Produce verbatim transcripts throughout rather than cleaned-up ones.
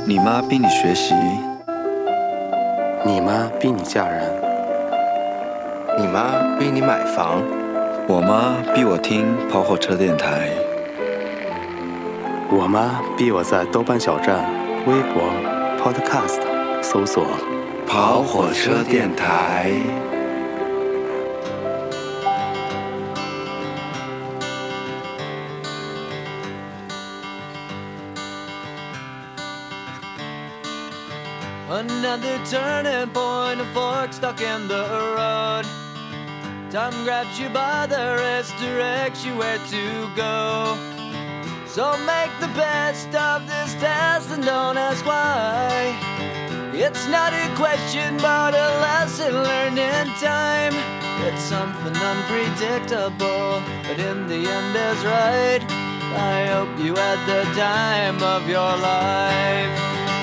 你妈逼你学习， 你妈逼你嫁人， 你妈逼你买房， 我妈逼我听跑火车电台， 我妈逼我在豆瓣小站、微博、Podcast 搜索跑火车电台。 Another turning point, a fork stuck in the road. Time grabs you by the wrist, directs you where to go. So make the best of this test and don't ask why. It's not a question but a lesson learned in time. It's something unpredictable, but in the end is right. I hope you had the time of your life.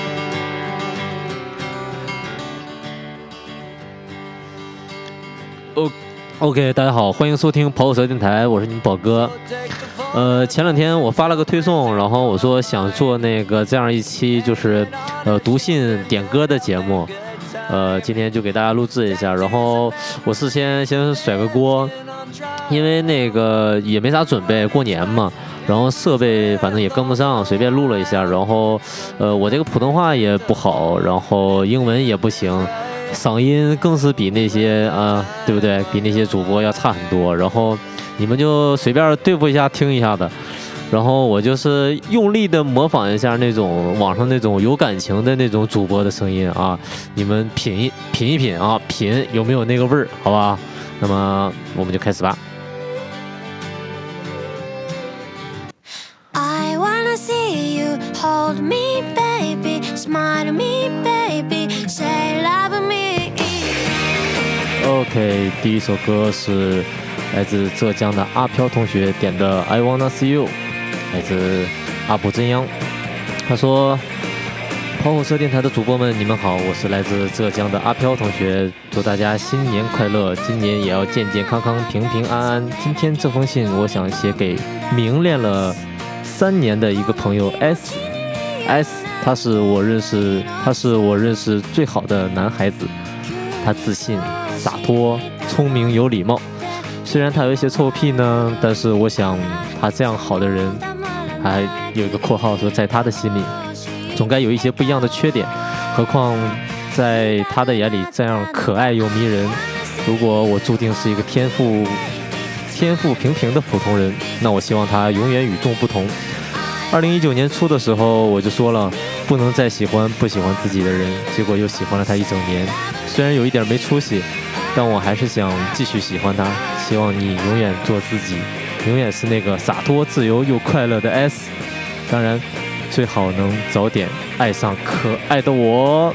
OK， 大家好，欢迎收听跑火车电台，我是你们宝哥。呃，前两天我发了个推送，然后我说想做那个这样一期就是呃读信点歌的节目，呃，今天就给大家录制一下。然后我事先先甩个锅，因为那个也没啥准备，过年嘛，然后设备反正也跟不上，随便录了一下。然后呃，我这个普通话也不好，然后英文也不行。嗓音更是比那些啊、呃，对不对？比那些主播要差很多。然后你们就随便对付一下，听一下的。然后我就是用力的模仿一下那种网上那种有感情的那种主播的声音啊，你们品一品一品啊，品有没有那个味儿，好吧？那么我们就开始吧。 I wanna see you hold me, baby, smile at me, baby, say love me.OK， 第一首歌是来自浙江的阿飘同学点的 I Wanna See You， 来自阿卜真央。他说：跑火车电台的主播们，你们好，我是来自浙江的阿飘同学，祝大家新年快乐，今年也要健健康康、平平安安。今天这封信，我想写给明恋了三年的一个朋友 S S， 他是我认识，他是我认识最好的男孩子，他自信。洒脱、聪明、有礼貌，虽然他有一些臭屁呢，但是我想他这样好的人，还有一个括号说，在他的心里，总该有一些不一样的缺点。何况在他的眼里，这样可爱又迷人。如果我注定是一个天赋天赋平平的普通人，那我希望他永远与众不同。二零一九年初的时候，我就说了，不能再喜欢不喜欢自己的人，结果又喜欢了他一整年。虽然有一点没出息，但我还是想继续喜欢他。希望你永远做自己，永远是那个洒脱、自由又快乐的 S。当然，最好能早点爱上可愛的我。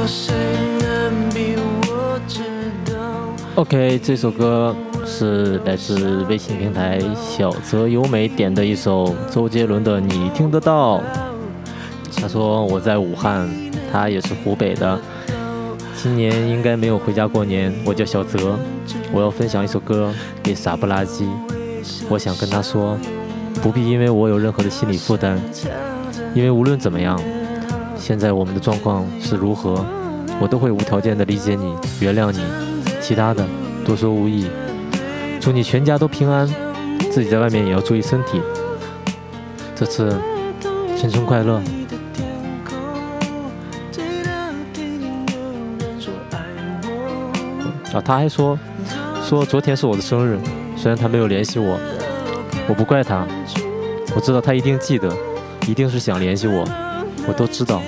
OK， 这首歌是来自微信平台小泽优美点的一首周杰伦的《你听得到》。他说我在武汉，他也是湖北的，今年应该没有回家过年。我叫小泽，我要分享一首歌给傻不拉几。我想跟他说，不必因为我有任何的心理负担，因为无论怎么样，现在我们的状况是如何，我都会无条件的理解你，原谅你。其他的多说无益，祝你全家都平安，自己在外面也要注意身体。这次新春快乐。啊，他还说说昨天是我的生日，虽然他没有联系我，我不怪他，我知道他一定记得，一定是想联系我，我都知道。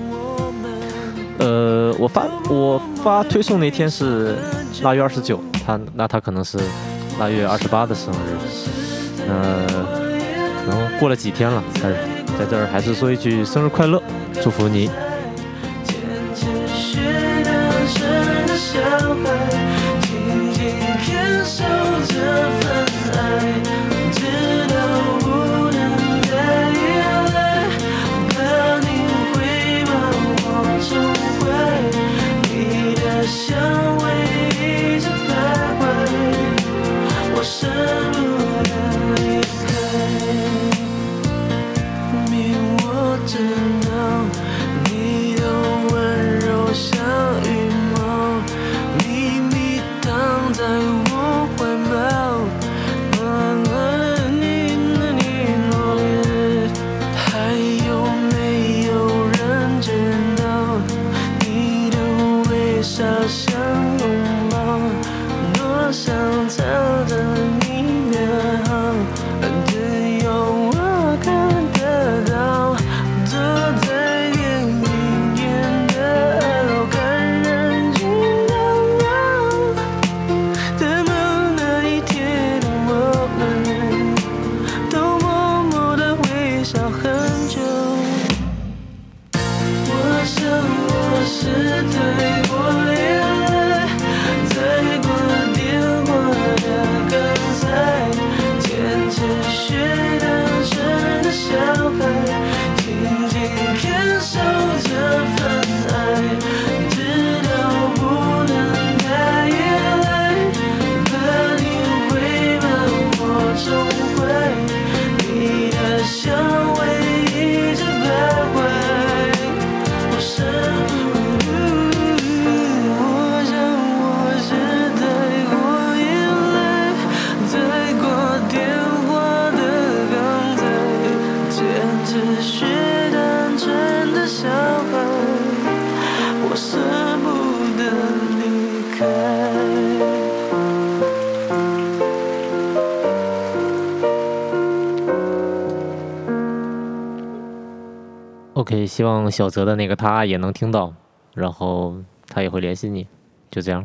呃，我发我发推送那天是腊月二十九，他那他可能是腊月二十八的生日，呃，可能过了几天了，但是在这儿还是说一句生日快乐，祝福你。OK， 希望小泽的那个他也能听到，然后他也会联系你，就这样。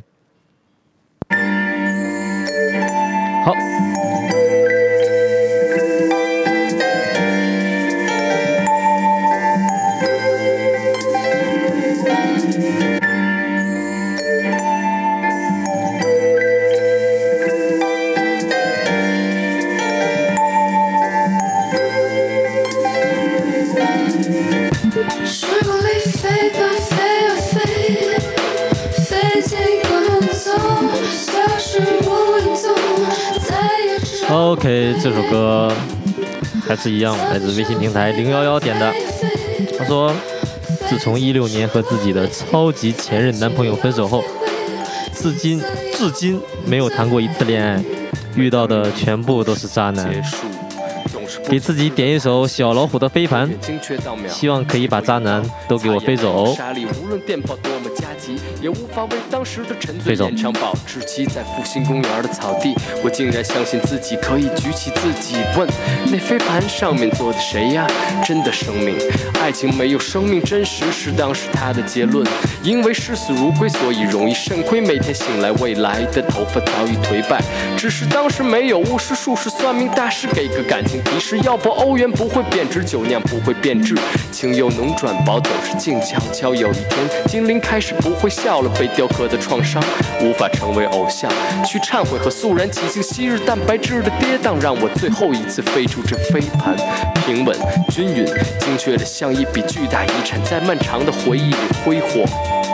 好。OK， 这首歌还是一样，来自微信平台零一一点的。他说，自从一六年和自己的超级前任男朋友分手后，至今至今没有谈过一次恋爱，遇到的全部都是渣男。给自己点一首小老虎的飞盘，希望可以把渣男都给我飞走。也无法为当时的沉醉演唱保质期在复兴公园的草地，我竟然相信自己可以举起自己，问那飞盘上面坐的谁呀？真的生命，爱情没有生命真实是当时他的结论。因为视死如归，所以容易肾亏，每天醒来未来的头发早已颓败。只是当时没有巫师术士算命大师给个感情提示， 是要不欧元不会贬值，酒酿不会变质，情有浓转薄总是静悄悄。有一天精灵开始不会笑了，被雕刻的创伤无法成为偶像，去忏悔和肃然起敬昔日蛋白质的跌宕，让我最后一次飞出这飞盘，平稳均匀精确的像一笔巨大遗产，在漫长的回忆里挥霍，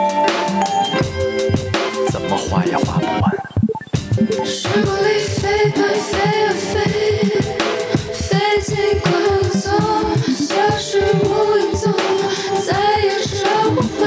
怎么画也画不完。 时光里飞盘飞啊飞，飞进滚走，消失无影踪，再也找不回。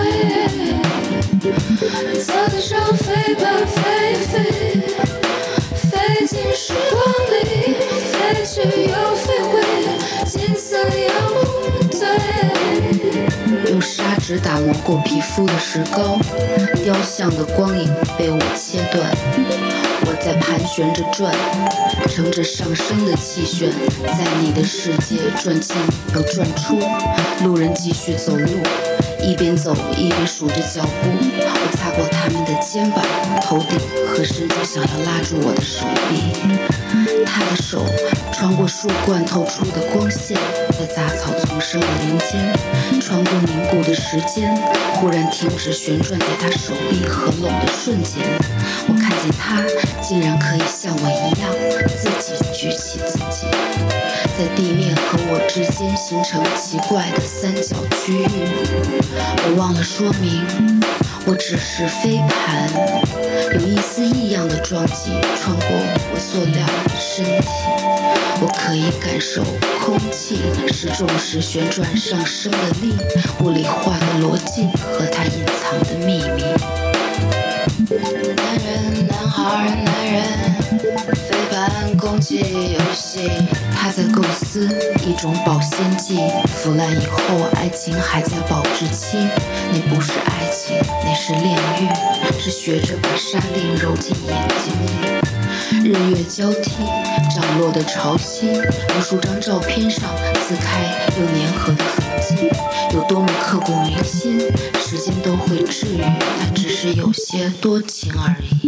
草地上飞盘飞飞，飞进时光里，飞去又飞回，金色阳光对。用砂纸打磨过皮肤的石膏，雕像的光影被我切断。我在盘旋着转，乘着上升的气旋，在你的世界转进又转出。路人继续走路，一边走一边数着脚步。我擦过他们的肩膀、头顶和伸出想要拉住我的手臂。他的手穿过树冠透出的光线，在杂草丛生的林间，穿过凝固的时间，忽然停止旋转，在他手臂合拢的瞬间，我看见他竟然可以像我一样自己举起自己，在地面和我之间形成奇怪的三角区域。我忘了说明，我只是飞盘，有一丝异样的撞击穿过我塑料的身体，我可以感受空气是重时旋转上升的力，物理化的逻辑和它隐藏的秘密。男人，男孩，男人，飞盘攻击游戏，他在构思一种保鲜剂，腐烂以后爱情还在保质期，那不是爱情，那是炼狱，是学着把沙粒揉进眼睛里。日月交替，涨落的潮汐，无数张照片上撕开又粘合的痕迹，有多么刻骨铭心，时间都会治愈，它只是有些多情而已。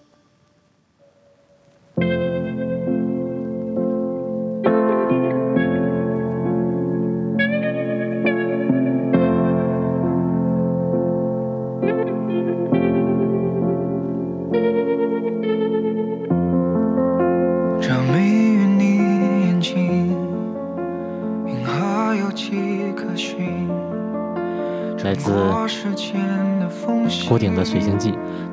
来自郭顶的《水星记》，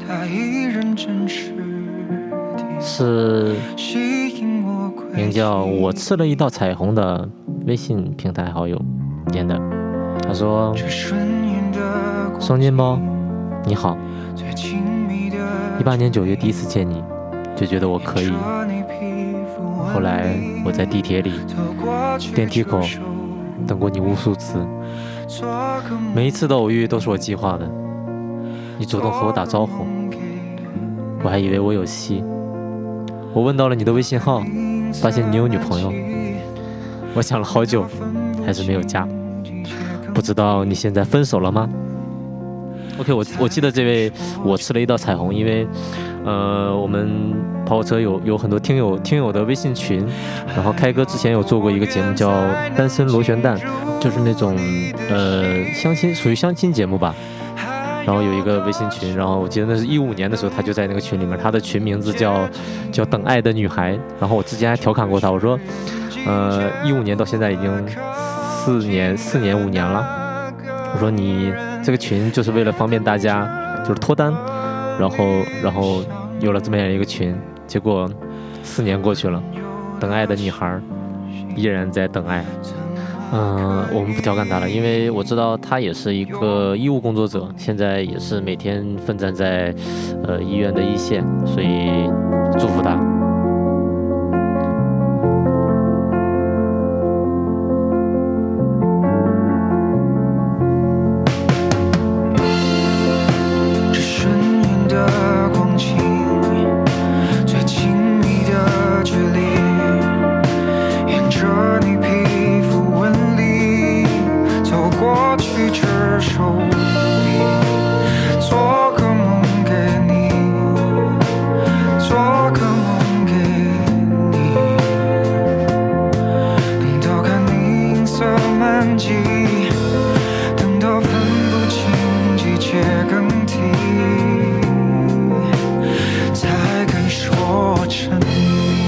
是名叫我吃了一道彩虹的微信平台好友点的。他说：双肩包你好，一八年九月第一次见你就觉得我可以，后来我在地铁里电梯口等过你无数次，每一次的偶遇都是我计划的，你主动和我打招呼，我还以为我有戏。我问到了你的微信号，发现你有女朋友，我想了好久还是没有加，不知道你现在分手了吗？ OK， 我我记得这位我吃了一道彩虹，因为呃我们跑火车有有很多听友听友的微信群，然后开哥之前有做过一个节目叫单身螺旋蛋，就是那种呃相亲，属于相亲节目吧。然后有一个微信群，然后我记得那是一五年的时候，他就在那个群里面，他的群名字叫叫等爱的女孩。然后我之前还调侃过他，我说，呃一五年到现在已经四年四年五年了，我说你这个群就是为了方便大家就是脱单，然后然后有了这么样一个群，结果四年过去了，等爱的女孩依然在等爱。嗯、呃，我们不调侃他了，因为我知道他也是一个医务工作者，现在也是每天奋战在呃医院的一线，所以祝福他。 做个梦给你，做个梦。 换季，等到分不清季节更替，才肯说沉迷。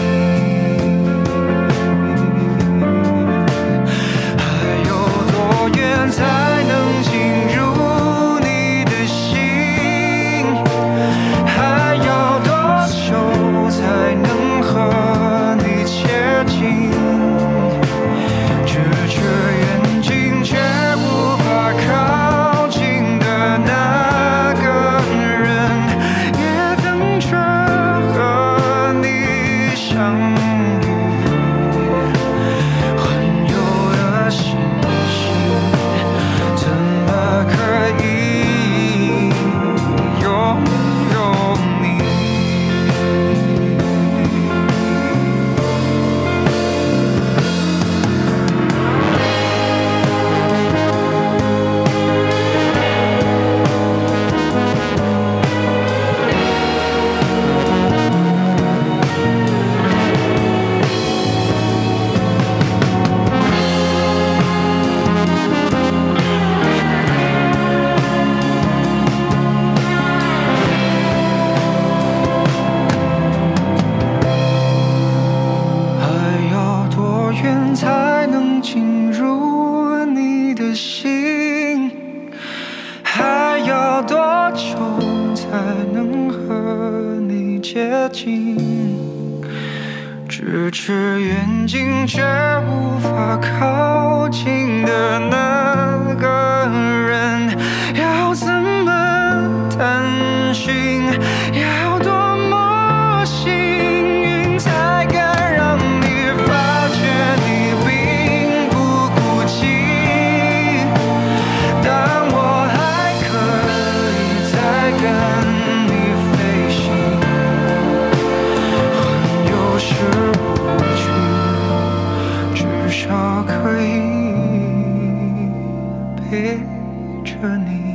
还有多远才能进入你的心？还要多久才能和你接近？指着远近却无法靠近的那个人，也等着和你相遇。环游的星星，怎么可以拥有你？还要多远才能进入你的心？还要多久才能和你接近？咫尺远近却无法靠近的那个人，要怎么探寻？要多么幸运才敢让你发觉你并不孤寂？当我还可以再跟你飞行，环游是无趣，至少可以陪着你。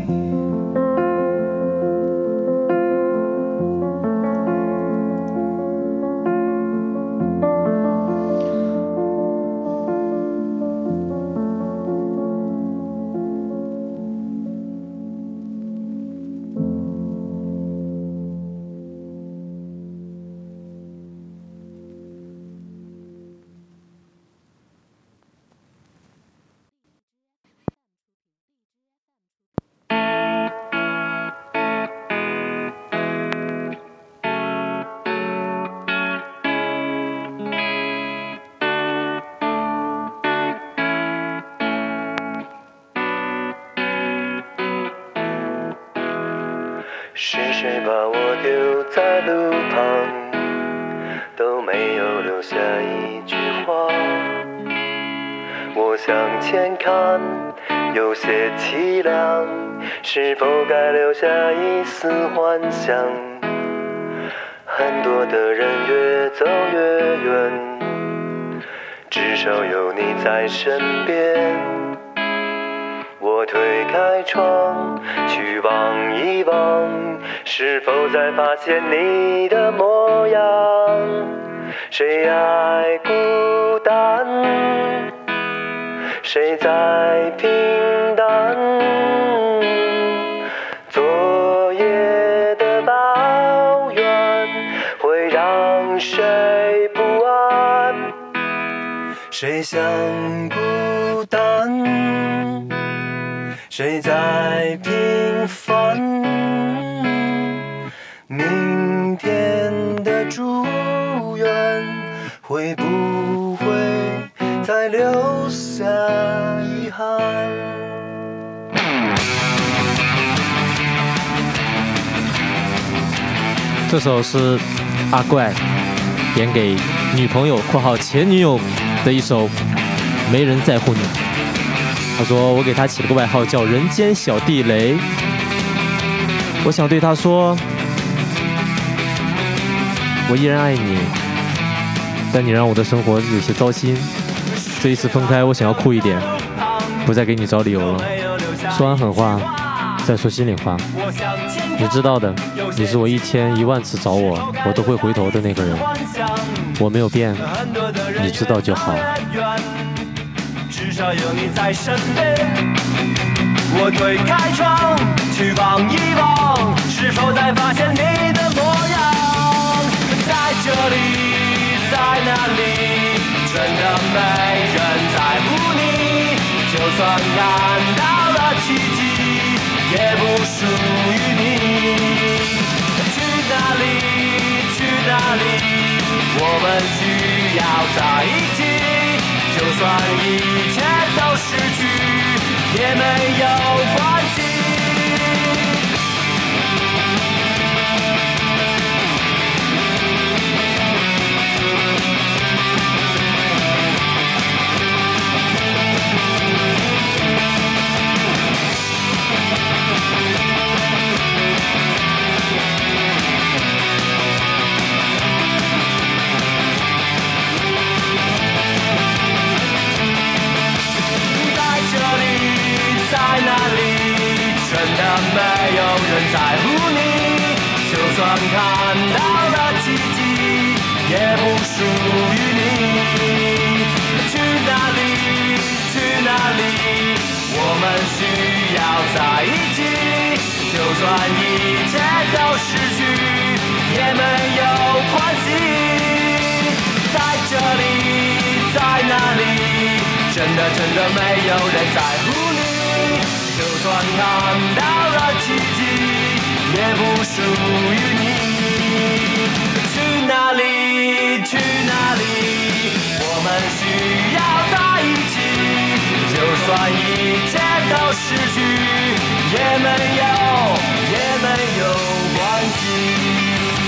是谁把我丢在路旁，都没有留下一句话。我向前看，有些凄凉，是否该留下一丝幻想？很多的人越走越远，至少有你在身边。我推开窗，去望一望，是否再发现你的模样？谁爱孤单？谁在平淡？昨夜的抱怨会让谁不安？谁想孤单？谁在平凡？明天的祝愿会不会再留下遗憾？ 这首是阿怪点给女朋友（括号前女友）的一首《没人在乎你》。他说我给他起了个外号叫人间小地雷，我想对他说，我依然爱你，但你让我的生活有些糟心。这一次分开，我想要酷一点，不再给你找理由了。说完狠话，再说心里话。你知道的，你是我一天一万次找我，我都会回头的那个人。我没有变，你知道就好。 少有你在身边。我推开窗，去望一望，是否再发现你的模样？在这里，在哪里，真的没人在乎你。就算看到了奇迹，也不属于你。去哪里，去哪里，我们需要在一起。就算一切都失去，也没有关系。没有人在乎你，就算看到了奇迹，也不属于你。去哪里，去哪里，我们需要在一起。就算一切都失去，也没有关系。在这里，在哪里，真的真的没有人在乎你。就算看到了奇迹，也不属于你。去哪里，去哪里，我们需要在一起。就算一切都失去，也没有，也没有关系。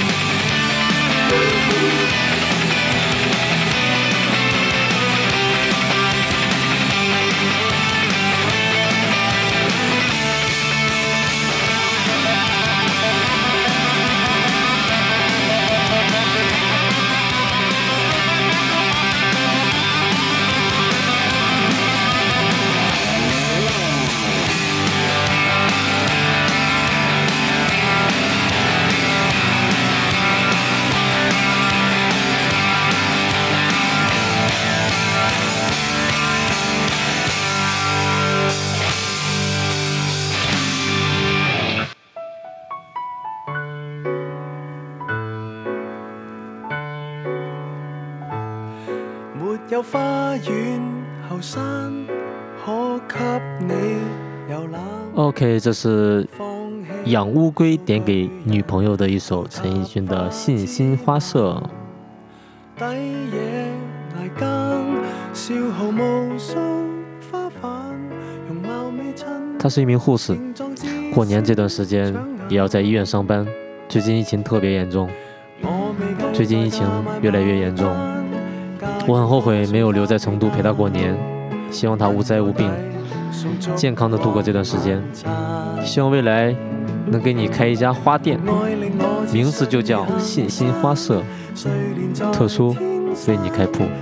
有花園後山可給你遊覽。 OK， 這是養烏龜點給女朋友的一首陳奕迅的《信心花舍》。 抵夜捱更，消耗無數花瓣，容貌未襯。 他是一名護士，過年這段時間也要在醫院上班。最近疫情特別嚴重，最近疫情越來越嚴重。 我很後悔沒有留在成都陪他過年，希望他無災無病，健康的度過這段時間。希望未來能給你開一家花店，名字就叫信心花舍，特殊為你開鋪。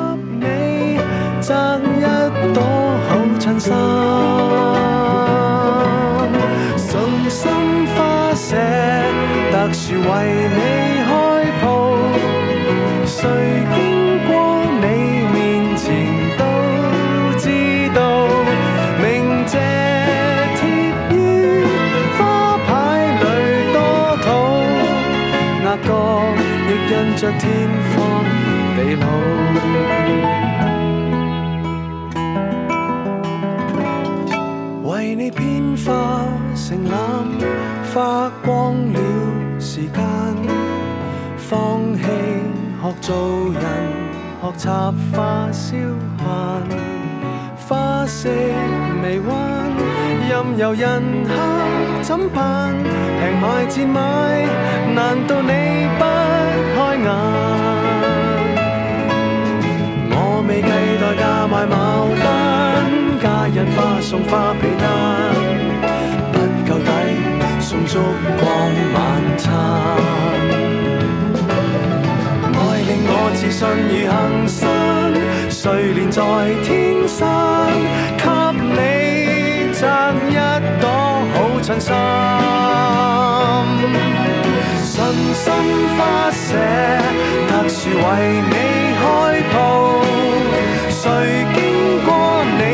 着天荒地老，為你編化成藍，花光了時間，放棄學做人，學插花消閒，花色微彎，任由人客怎辦？平賣賤賣，難道你不開眼？我未計代價賣牡丹，假日花送花被單，不夠抵送燭光晚餐。愛令我自信如恆山，睡蓮在天山，給你摘一朵好襯衫。信心花舍，特殊為你開鋪，誰經過你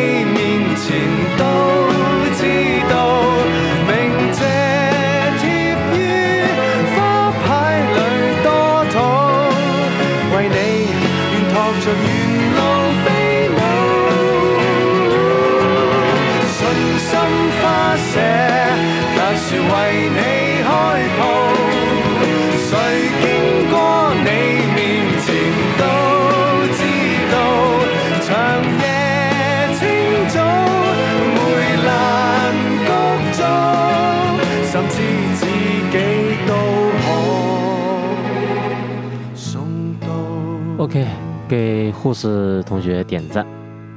寫，特殊為你開鋪。誰經過你面前都知道，長夜清早，梅蘭菊糟，甚至自己都可送到。 OK， 给护士同学点赞。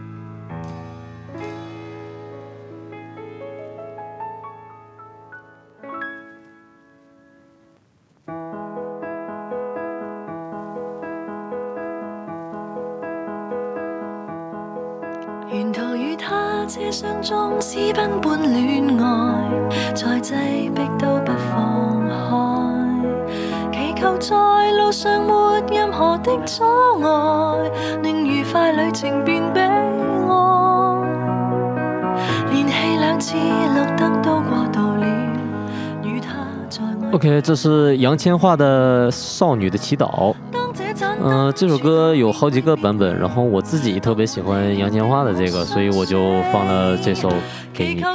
沿途與他車廂中私奔般戀愛，再擠迫都不放開，祈求在路上沒任何的阻礙，令愉快旅程變悲哀。連氣兩次綠燈都過渡了，與他在愛。 OK， 這是楊千嬅的《少女的祈禱》。嗯、呃，这首歌有好几个版本，然后我自己特别喜欢杨千嬅的这个，所以我就放了这首给你。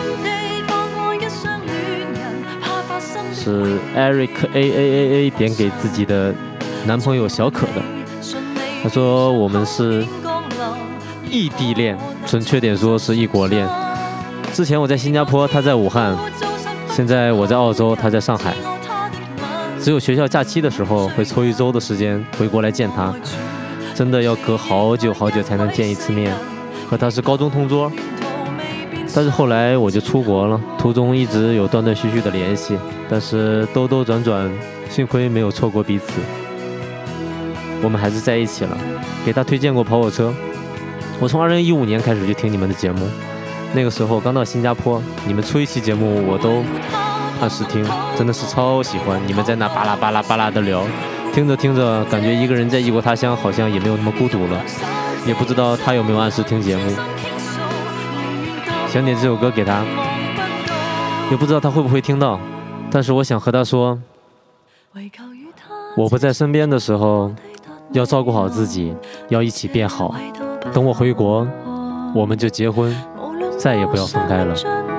是 Eric A A A A 点给自己的男朋友小可的，他说我们是异地恋，准确点说是异国恋。之前我在新加坡，他在武汉，现在我在澳洲，他在上海。只有学校假期的时候会抽一周的时间回国来见他，真的要隔好久好久才能见一次面。和他是高中同桌，但是后来我就出国了，途中一直有断断续续的联系，但是兜兜转转，幸亏没有错过彼此。我们还是在一起了。给他推荐过跑火车，我从二零一五年开始就听你们的节目，那个时候刚到新加坡，你们出一期节目我都按时听，真的是超喜欢。你们在那巴拉巴拉巴拉的聊，听着听着，感觉一个人在异国他乡好像也没有那么孤独了。也不知道他有没有按时听节目，想点这首歌给他，也不知道他会不会听到。但是我想和他说，我不在身边的时候，要照顾好自己，要一起变好。等我回国，我们就结婚，再也不要分开了。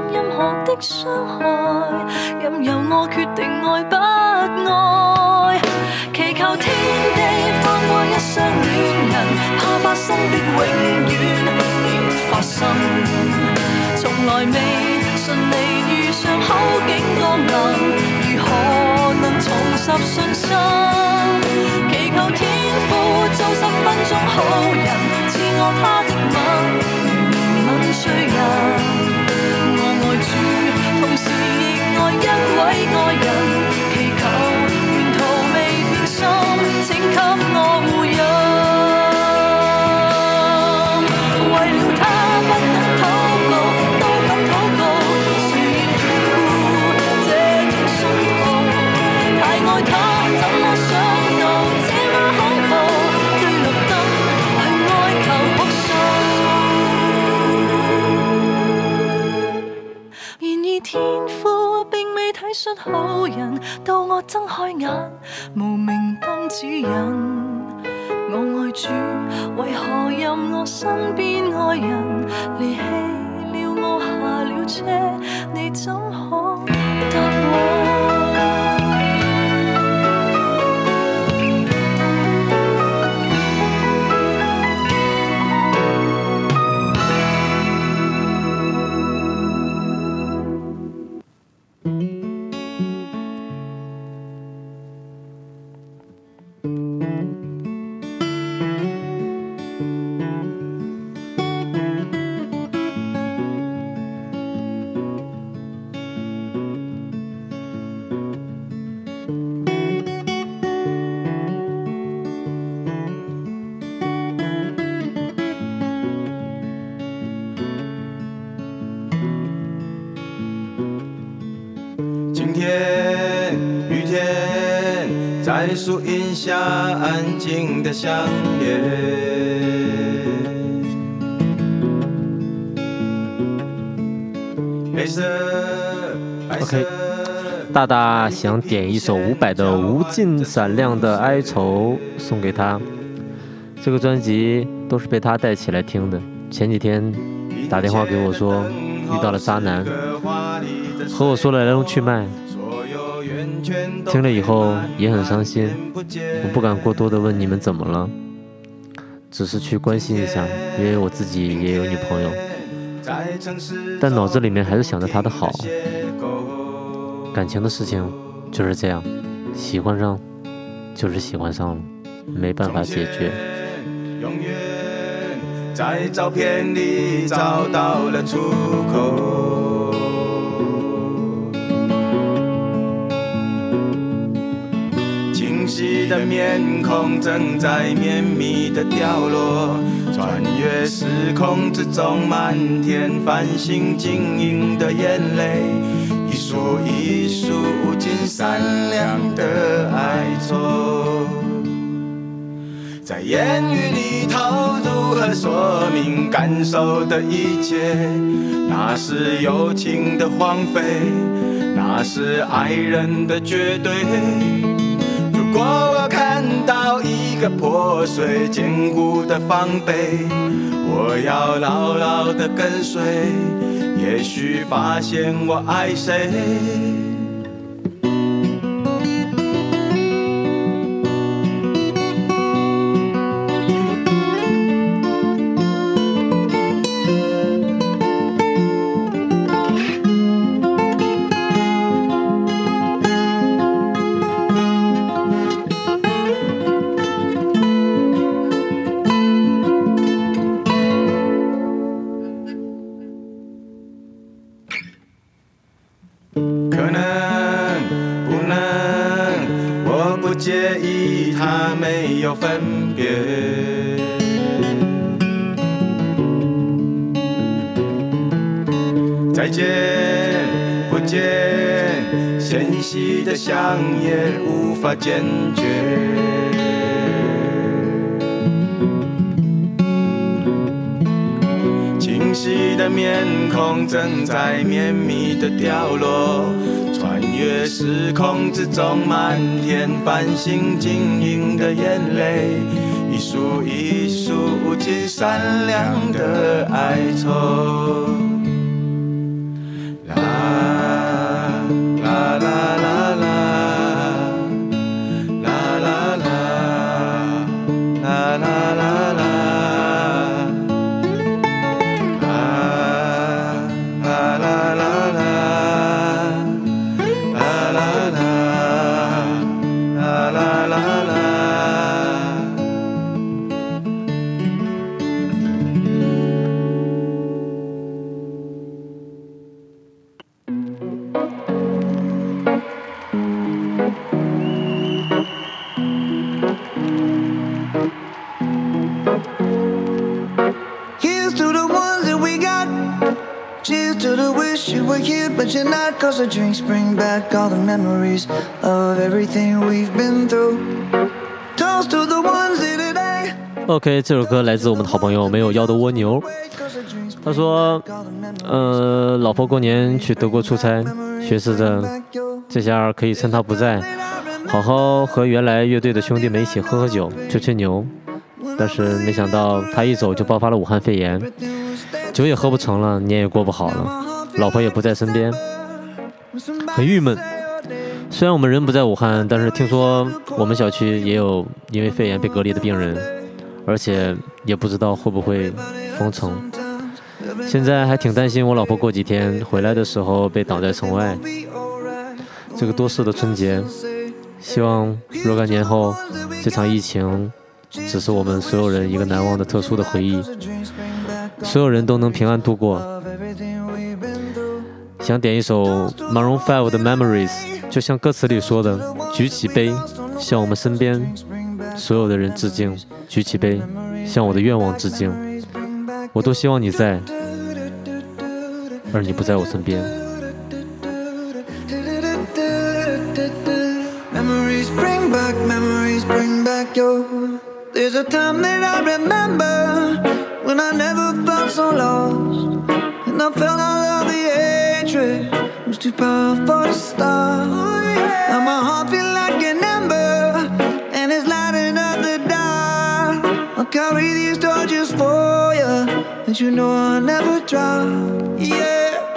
任由我決定愛不愛，祈求天地放過一雙戀人，怕發生的永遠別發生，從來未順利遇上好景降臨，如何能重拾信心？祈求天父做十分鐘好人，賜我他的吻，吻醉人。我愛主，同時亦愛一位愛人，祈求沿途未變心，請給我護蔭。為了他不能禱告，都敢禱告，誰要這條信號？太愛他，怎麼想到這麼恐怖？對綠燈去哀求哭訴。然而天父並未體恤好人，到我睜開眼，無明燈指引。我愛主，為何任我身邊愛人離棄了我下了車？你怎可答我？ 晴天雨天，在树荫下安静的相恋。黑色，白色。 OK， 大大想点一首伍佰的《无尽闪亮的哀愁》送给他。这个专辑都是被他带起来听的。前几天打电话给我说， 遇到了渣男，和我说了来龙去脉，听了以后也很伤心。我不敢过多的问你们怎么了，只是去关心一下，因为我自己也有女朋友，但脑子里面还是想着她的好。感情的事情就是这样，喜欢上就是喜欢上了，没办法解决。 永远在照片里找到了出口，清晰的面孔正在绵密的掉落，穿越时空之中满天繁星晶莹的眼泪，一束一束无尽闪亮的哀愁，在言语里头如何说明感受的一切？那是友情的荒废，那是爱人的绝对。如果我看到一个破碎坚固的防备，我要牢牢地跟随，也许发现我爱谁。介意它没有分别，再见不见，纤细的香也无法坚决，清晰的面孔正在绵密的掉落，穿越时空之中满天繁星晶莹的眼泪，一束一束无尽闪亮的哀愁。啦啦啦啦啦啦啦啦啦啦啦啦。 But you're not, cause the drinks bring back all the memories of everything we've been through. Toast to the ones in today. OK， 这首歌来自我们的好朋友没有腰的蜗牛。他说，呃，老婆过年去德国出差，寻思着这下可以趁他不在，好好和原来乐队的兄弟们一起喝喝酒、吹吹牛。但是没想到他一走就爆发了武汉肺炎，酒也喝不成了，年也过不好了。老婆也不在身边，很郁闷。虽然我们人不在武汉，但是听说我们小区也有因为肺炎被隔离的病人，而且也不知道会不会封城。现在还挺担心我老婆过几天回来的时候被挡在城外。这个多事的春节，希望若干年后这场疫情只是我们所有人一个难忘的特殊的回忆，所有人都能平安度过。想点一首 Maroon 五的 Memories， 就像歌词里说的，举起杯向我们身边所有的人致敬，举起杯向我的愿望致敬，我都希望你在，而你不在我身边。 Memories bring back, memories bring back your. There's a time that I remember when I never felt so lost, and I felt all of the hatred was too powerful to stop. Now my heart feels like an ember, and it's lighting up the dark. I'll carry these torches for you, and you know I'll never drop. Yeah.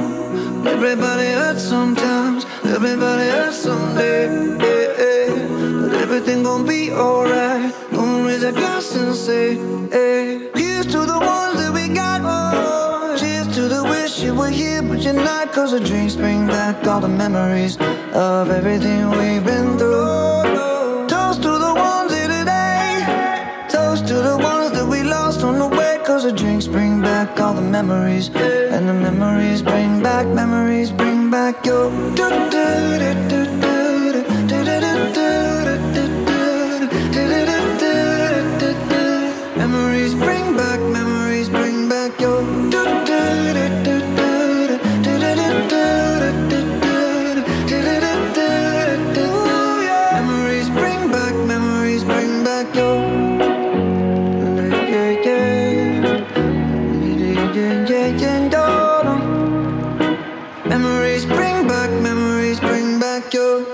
Everybody hurts sometimes, everybody hurts someday. But everything gon' be alright. Gonna raise a glass and say, hey. Here's to the ones that we got. Oh, cheers to the wish you were here, but you're not. Cause the drinks bring back all the memories of everything we've been through. Toast to the ones here today. Toast to the ones that we lost on the way. Cause the drinks bring back all the memories. And the memories bring back, memories bring back your memories bring back, memories bring back your memories bring back, memories bring back your memories bring back, memories bring back your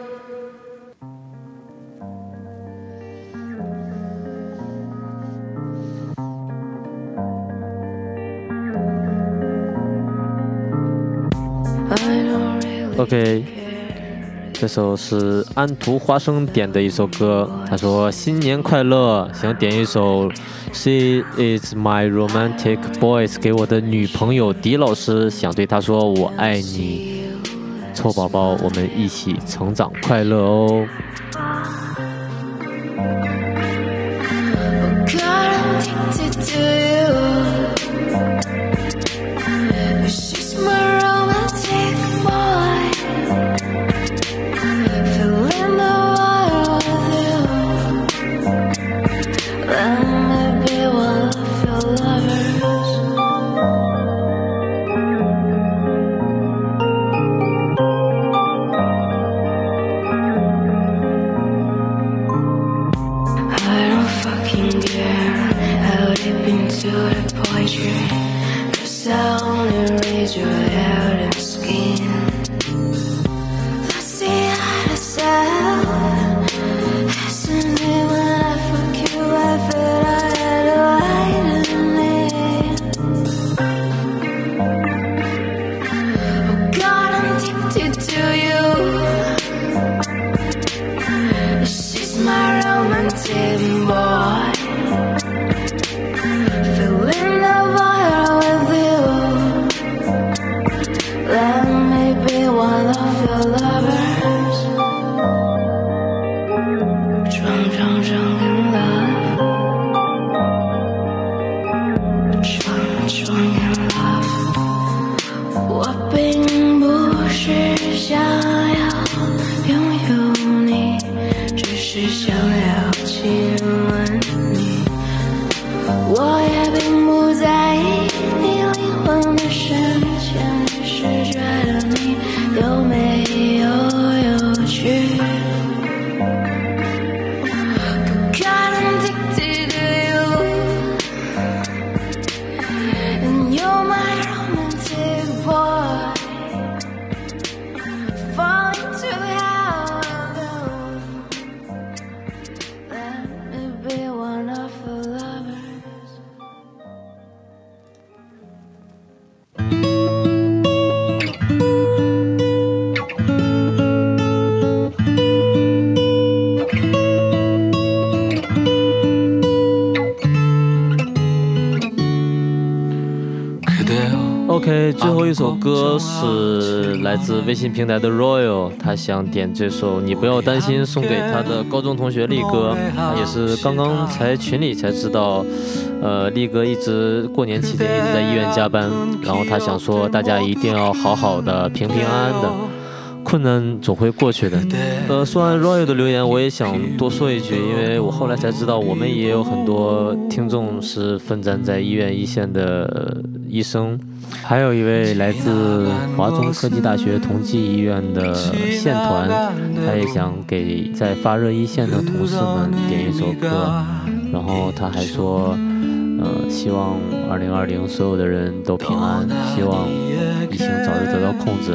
OK， 这首是安徒花生点的一首歌，他说新年快乐，想点一首 She is my romantic voice 给我的女朋友狄老师，想对她说我爱你，臭宝宝，我们一起成长快乐哦。OK， 最后一首歌是来自微信平台的 Royal， 他想点这首《你不要担心》，送给他的高中同学力哥。他也是刚刚才群里才知道，呃，力哥一直过年期间一直在医院加班，然后他想说大家一定要好好的、平平安安的。困难总会过去的。呃，说完 Royal 的留言，我也想多说一句，因为我后来才知道，我们也有很多听众是奋战在医院一线的医生，还有一位来自华中科技大学同济医院的线团，他也想给在发热一线的同事们点一首歌，然后他还说，呃，希望二零二零所有的人都平安，希望疫情早日得到控制。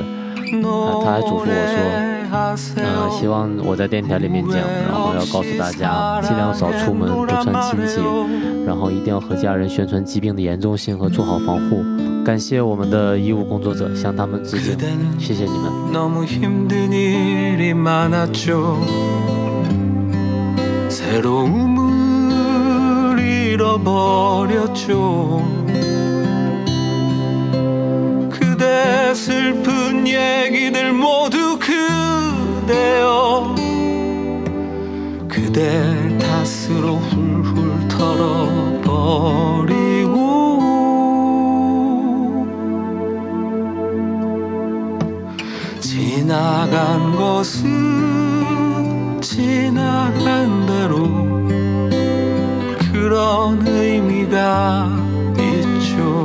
他他还嘱咐我说，嗯，希望我在电台里面讲，然后要告诉大家尽量少出门，不穿亲戚，然后一定要和家人宣传疾病的严重性和做好防护。感谢我们的医务工作者，向他们致敬，谢谢你们。 너무 힘든 일이 많았죠. 새로움을 잃어버렸죠. 그대 슬픈 얘기들 모두 그대여 그대 탓으로 훌훌 털어버리고 지나간 것은 지나간 대로 그런 의미가 있죠.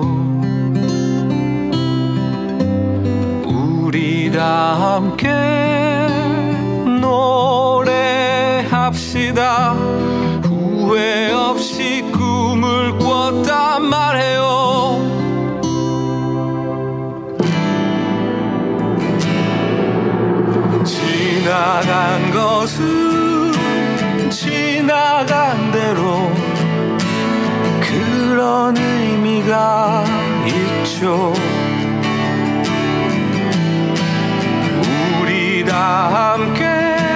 우리 다 함께 노래합시다. 후회 없이 꿈을 꿨단 말해요. 지나간 것은 지나간 대로 그런 의미가 있죠. 우리 다 함께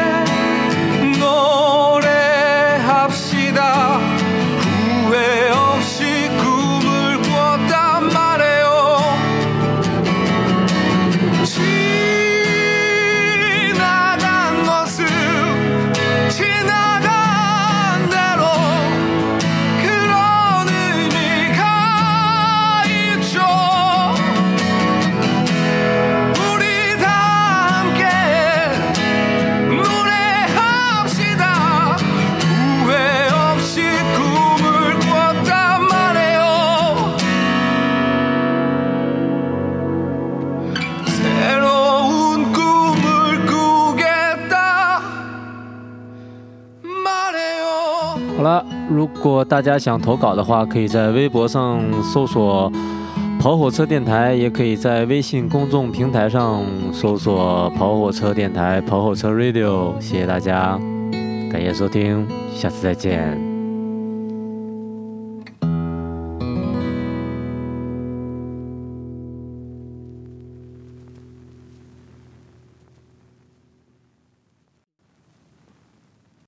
노래합시다. 후회 없이 꿈을 꿨단 말해요. 지나간 것은 지나간 대로 그런 의미가 있죠. 우리 다 함께 노래합시다. 후회 없이 꿈을 꿨단 말이에요. 새로운 꿈을 꾸겠다 말해요. 好了，如果大家想投稿的话，可以在微博上搜索跑火车电台，也可以在微信公众平台上搜索跑火车电台、跑火车 Radio。谢谢大家，感谢收听，下次再见。